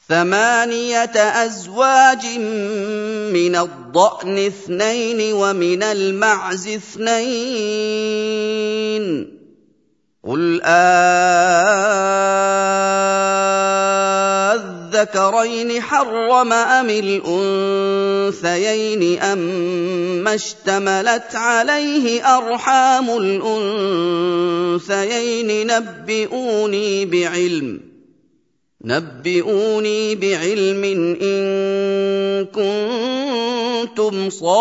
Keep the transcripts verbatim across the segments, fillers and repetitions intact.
ثمانية أزواج من الضأن اثنين ومن المعز اثنين قل أذكرين حرم أم الأنثيين أما اشتملت عليه أرحام الأنثيين نبئوني بعلم نبئوني بعلم إن كنتم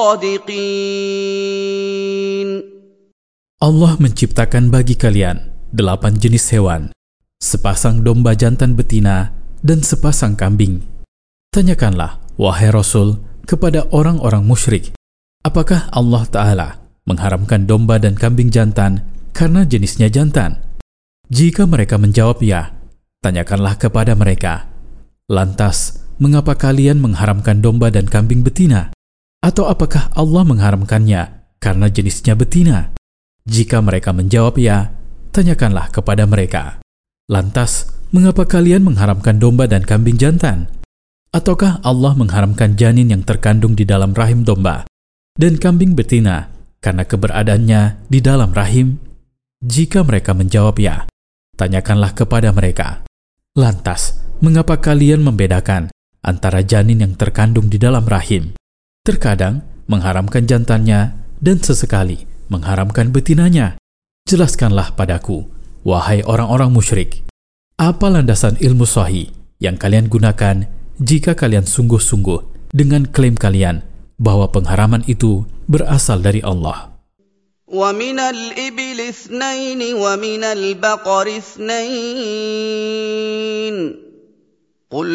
صادقين. Allah menciptakan bagi kalian delapan jenis hewan, sepasang domba jantan betina dan sepasang kambing. Tanyakanlah, wahai Rasul, kepada orang-orang musyrik, apakah Allah Ta'ala mengharamkan domba dan kambing jantan karena jenisnya jantan? Jika mereka menjawab ya, tanyakanlah kepada mereka, lantas, mengapa kalian mengharamkan domba dan kambing betina? Atau apakah Allah mengharamkannya karena jenisnya betina? Jika mereka menjawab ya, tanyakanlah kepada mereka, lantas, mengapa kalian mengharamkan domba dan kambing jantan? Ataukah Allah mengharamkan janin yang terkandung di dalam rahim domba dan kambing betina karena keberadaannya di dalam rahim? Jika mereka menjawab ya, tanyakanlah kepada mereka, lantas, mengapa kalian membedakan antara janin yang terkandung di dalam rahim? Terkadang mengharamkan jantannya dan sesekali mengharamkan betinanya. Jelaskanlah padaku, wahai orang-orang musyrik, apa landasan ilmu sahih yang kalian gunakan jika kalian sungguh-sungguh dengan klaim kalian bahwa pengharaman itu berasal dari Allah? وَمِنَ الْإِبِلِ اثْنَيْنِ وَمِنَ الْبَقَرِ اثْنَيْنِ قُلْ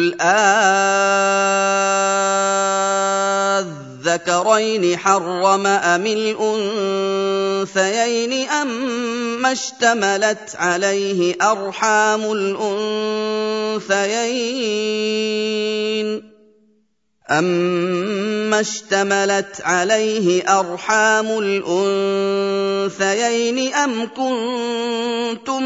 أَذَّكَرَيْنِ حَرَّمَ أَمِ الْأُنثَيَيْنِ أَمَّا اشْتَمَلَتْ عَلَيْهِ أَرْحَامُ الْأُنثَيَيْنِ أَمَّا اشْتَمَلَتْ عَلَيْهِ أَرْحَامُ الْأُنثَيَيْنِ أَمْ كُنتُمْ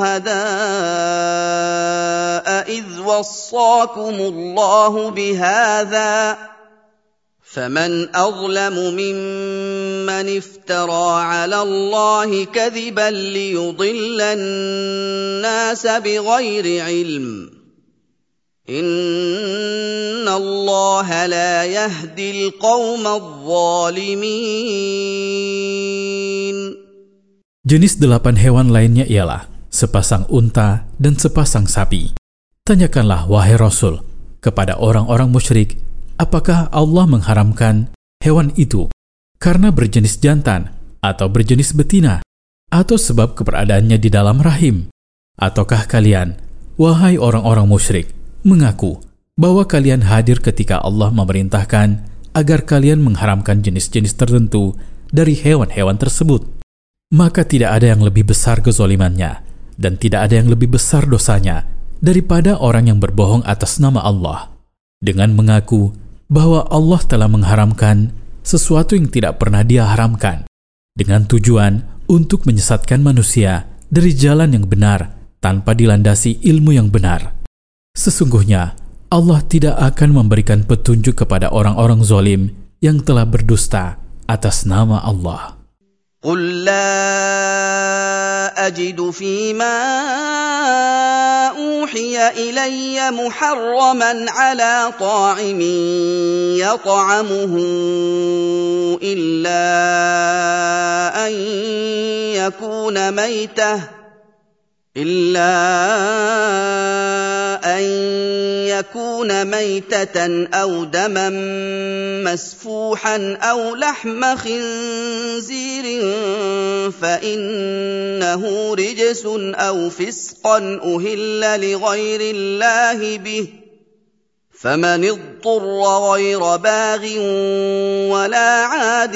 شُهَدَاءَ إِذْ وَصَّاكُمُ اللَّهُ بِهَذَا فَمَنْ أَظْلَمُ مِمَّنِ افْتَرَىٰ عَلَى اللَّهِ كَذِبًا لِيُضِلَّ النَّاسَ بِغَيْرِ عِلْمٍ إِنَّ اللَّهَ لَا يَهْدِي الْقَوْمَ الظَّالِمِينَ. Jenis delapan hewan lainnya ialah sepasang unta dan sepasang sapi. Tanyakanlah, wahai Rasul, kepada orang-orang musyrik, apakah Allah mengharamkan hewan itu karena berjenis jantan atau berjenis betina, atau sebab keberadaannya di dalam rahim? Ataukah kalian, wahai orang-orang musyrik, mengaku bahwa kalian hadir ketika Allah memerintahkan agar kalian mengharamkan jenis-jenis tertentu dari hewan-hewan tersebut? Maka tidak ada yang lebih besar kezalimannya dan tidak ada yang lebih besar dosanya daripada orang yang berbohong atas nama Allah dengan mengaku bahwa Allah telah mengharamkan sesuatu yang tidak pernah Dia haramkan dengan tujuan untuk menyesatkan manusia dari jalan yang benar tanpa dilandasi ilmu yang benar. Sesungguhnya Allah tidak akan memberikan petunjuk kepada orang-orang zalim yang telah berdusta atas nama Allah. قُل لَّا أَجِدُ فِيمَا أُوحِيَ إِلَيَّ مُحَرَّمًا عَلَىٰ طَاعِمٍ يَطْعَمُهُ إِلَّا أَن يَكُونَ مَيْتَةً إلا أن يكون ميتة أو دما مسفوحا أو لحم خنزير فإنه رجس أو فسقا أهل لغير الله به فمن اضطر غير باغ ولا عاد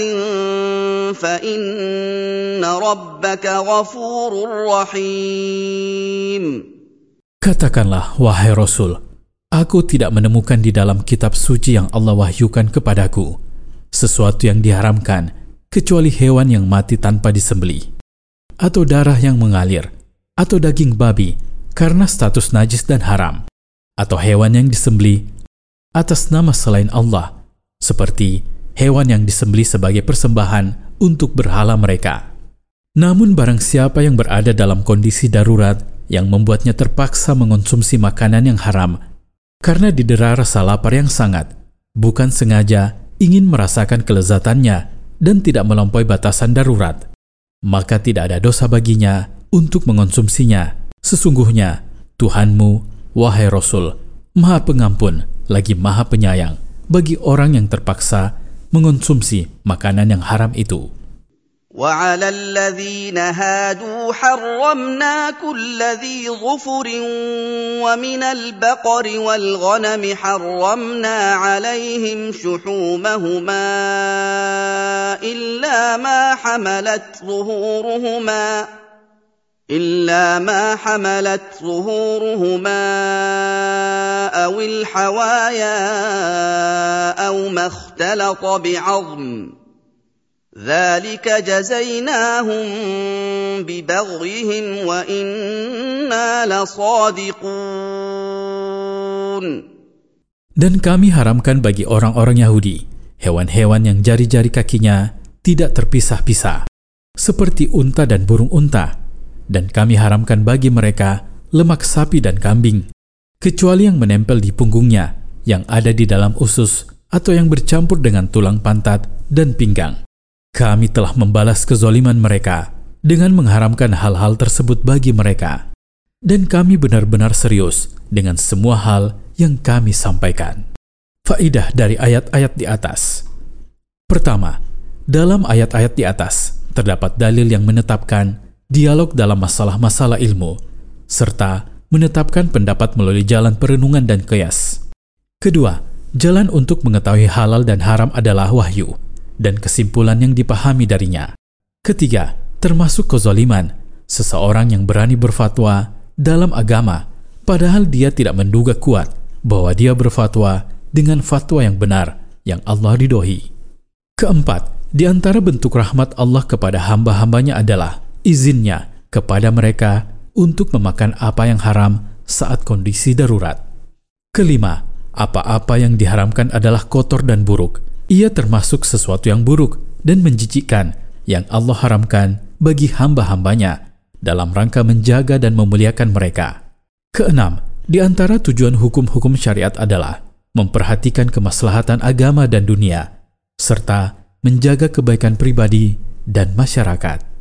فإن ربك غفور رحيم. Katakanlah, wahai Rasul, aku tidak menemukan di dalam kitab suci yang Allah wahyukan kepadaku sesuatu yang diharamkan kecuali hewan yang mati tanpa disembelih, atau darah yang mengalir, atau daging babi karena status najis dan haram, atau hewan yang disembelih atas nama selain Allah, seperti hewan yang disembelih sebagai persembahan untuk berhala mereka. Namun barang siapa yang berada dalam kondisi darurat yang membuatnya terpaksa mengonsumsi makanan yang haram karena didera rasa lapar yang sangat, bukan sengaja ingin merasakan kelezatannya dan tidak melampaui batasan darurat, maka tidak ada dosa baginya untuk mengonsumsinya. Sesungguhnya Tuhanmu, wahai Rasul, Maha Pengampun lagi Maha Penyayang bagi orang yang terpaksa mengonsumsi makanan yang haram itu. وَعَلَى الَّذِينَ هَادُوا حَرَّمْنَا كُلَّ ذِي ظُفُرٍ وَمِنَ الْبَقَرِ وَالْغَنَمِ حَرَّمْنَا عَلَيْهِمْ شُحُومَهُمَا إِلَّا مَا حَمَلَتْ ظُهُورُهُمَا إِلَّا مَا حَمَلَتْ ظُهُورُهُمَا أَوِ الْحَوَايَا أَوْ مَا اخْتَلَطَ بِعَظْمٍ ذَلِكَ جَزَيْنَاهُمْ بِبَغْيِهِمْ وَإِنَّا لَصَادِقُونَ. Dan kami haramkan bagi orang-orang Yahudi hewan-hewan yang jari-jari kakinya tidak terpisah-pisah, seperti unta dan burung unta, dan kami haramkan bagi mereka lemak sapi dan kambing, kecuali yang menempel di punggungnya, yang ada di dalam usus, atau yang bercampur dengan tulang pantat dan pinggang. Kami telah membalas kezaliman mereka dengan mengharamkan hal-hal tersebut bagi mereka. Dan kami benar-benar serius dengan semua hal yang kami sampaikan. Faidah dari ayat-ayat di atas. Pertama, dalam ayat-ayat di atas terdapat dalil yang menetapkan dialog dalam masalah-masalah ilmu, serta menetapkan pendapat melalui jalan perenungan dan qiyas. Kedua, jalan untuk mengetahui halal dan haram adalah wahyu dan kesimpulan yang dipahami darinya. Ketiga, termasuk kezaliman, seseorang yang berani berfatwa dalam agama, padahal dia tidak menduga kuat bahwa dia berfatwa dengan fatwa yang benar, yang Allah ridhoi. Keempat, di antara bentuk rahmat Allah kepada hamba-hambanya adalah izinnya kepada mereka untuk memakan apa yang haram saat kondisi darurat. Kelima, apa-apa yang diharamkan adalah kotor dan buruk. Ia termasuk sesuatu yang buruk dan menjijikkan yang Allah haramkan bagi hamba-hambanya dalam rangka menjaga dan memuliakan mereka. Keenam, di antara tujuan hukum-hukum syariat adalah memperhatikan kemaslahatan agama dan dunia, serta menjaga kebaikan pribadi dan masyarakat.